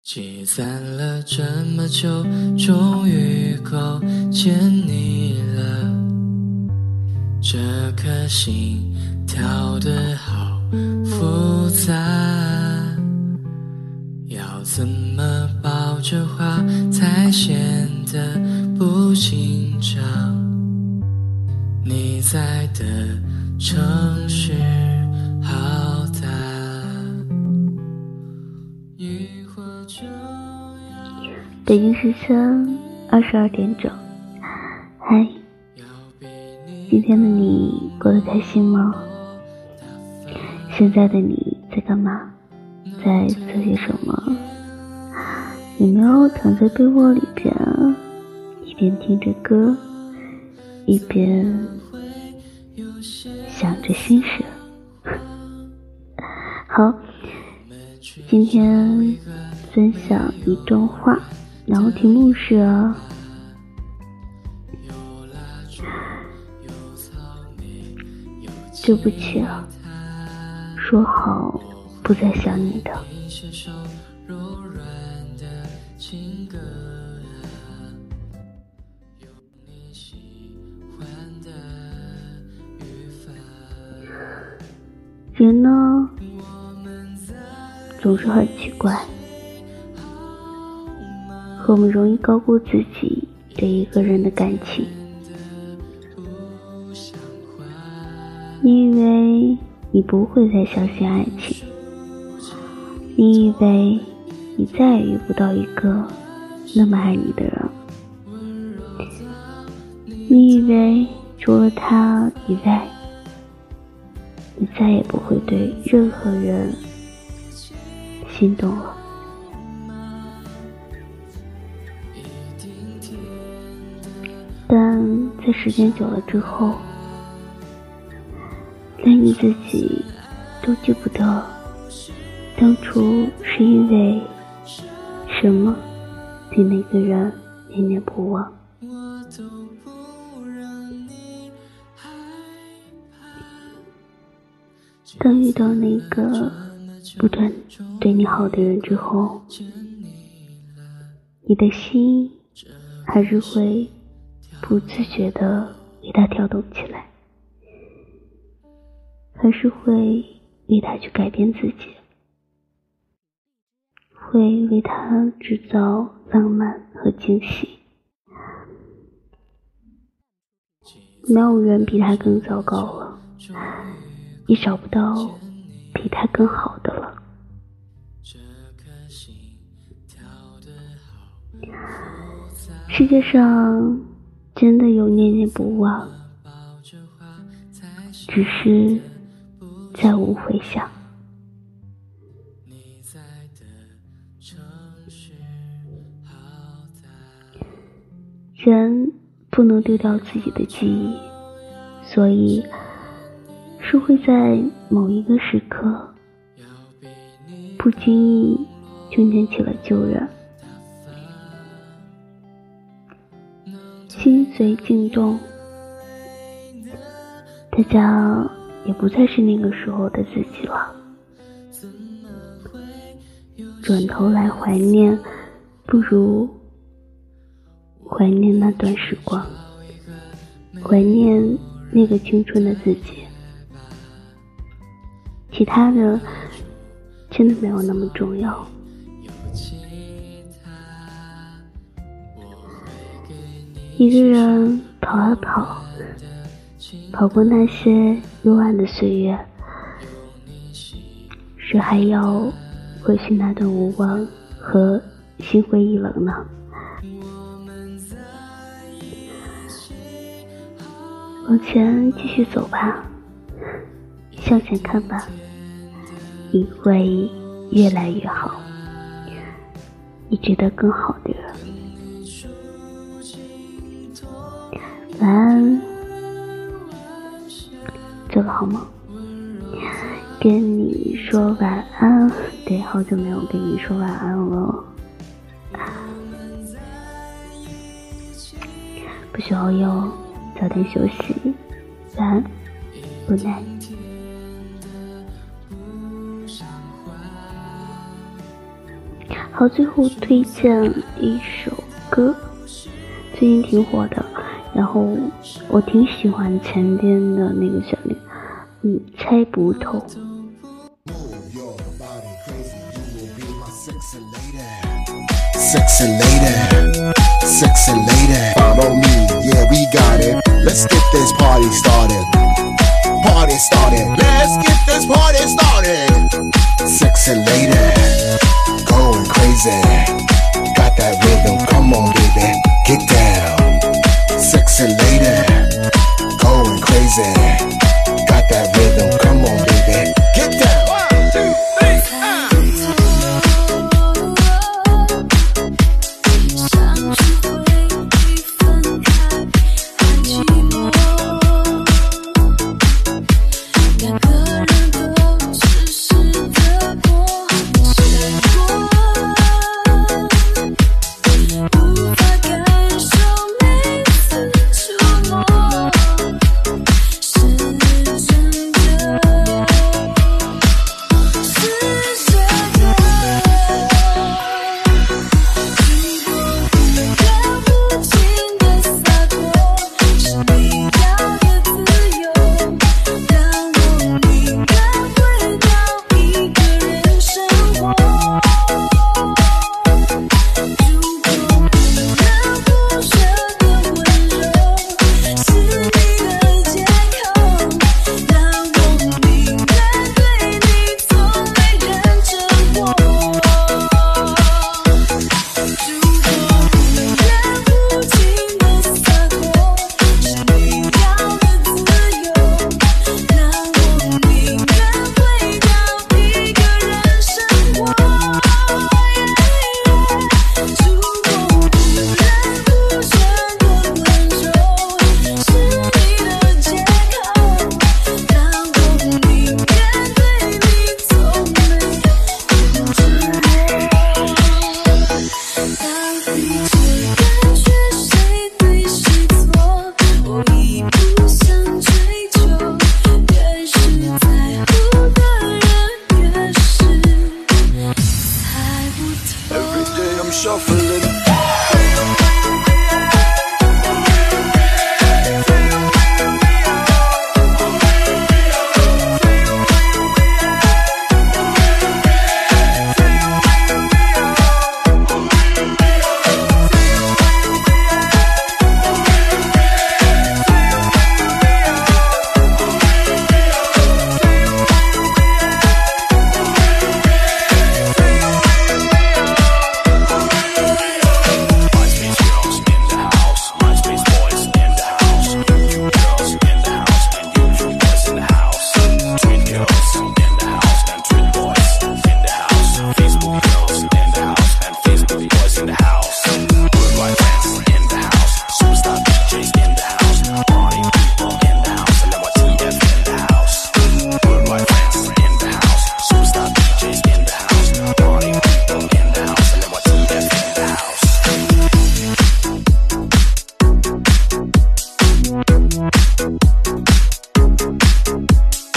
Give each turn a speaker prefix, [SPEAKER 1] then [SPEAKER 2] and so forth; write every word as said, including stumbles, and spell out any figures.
[SPEAKER 1] 积攒了这么久，终于够见你了。这颗心跳得好复杂，要怎么抱着花才显得不紧张？你在的城市好大，雨或就要
[SPEAKER 2] 北京时间二十二点整。嗨，今天的你过得开心吗？现在的你在干嘛？在做些什么？有没有躺在被窝里边，一边听着歌，一边想着心事？好，今天分享一段话，然后题目是对不起啊，说好不再想你的。人呢，总是很奇怪，我们容易高估自己对一个人的感情。你以为你不会再相信爱情，你以为你再也遇不到一个那么爱你的人，你以为除了他以外，你再也不会对任何人心动了。但在时间久了之后，连你自己都记不得当初是因为什么对那个人念念不忘。当遇到那个不断对你好的人之后，你的心还是会不自觉地为他跳动起来，还是会为他去改变自己，会为他制造浪漫和惊喜。没有人比他更糟糕了，也找不到比他更好的了。世界上真的有念念不忘，只是再无回响。人不能丢掉自己的记忆，所以是会在某一个时刻不经意就念起了旧人，心随境动，大家也不再是那个时候的自己了。转头来怀念，不如怀念那段时光，怀念那个青春的自己。其他的真的没有那么重要。一个人跑啊跑，跑过那些幽暗的岁月，是还要回去那段无望和心灰意冷呢？往前继续走吧，向前看吧，你会越来越好，你值得更好的人。晚安，做个好梦。跟你说晚安，对，好久没有跟你说晚安了。不需要哟，早点休息，晚安 ，Good night。 好，最后推荐一首歌，最近挺火的，然后我挺喜欢前边的那个旋律，嗯，猜不透。
[SPEAKER 3] Sexy lady, sexy lady, follow me, yeah we got it. Let's get this party started. Party started. Let's get this party started. Sexy lady, going crazy. Got that rhythm, come on baby, get down. Sexy lady, going crazy. Got that rhythm, come on baby, get down. One, two, three, ah.
[SPEAKER 4] ，shuffling